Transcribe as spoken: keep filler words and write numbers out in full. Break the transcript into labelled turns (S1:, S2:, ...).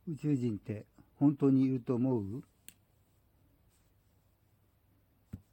S1: 宇宙人って本当にいると思う？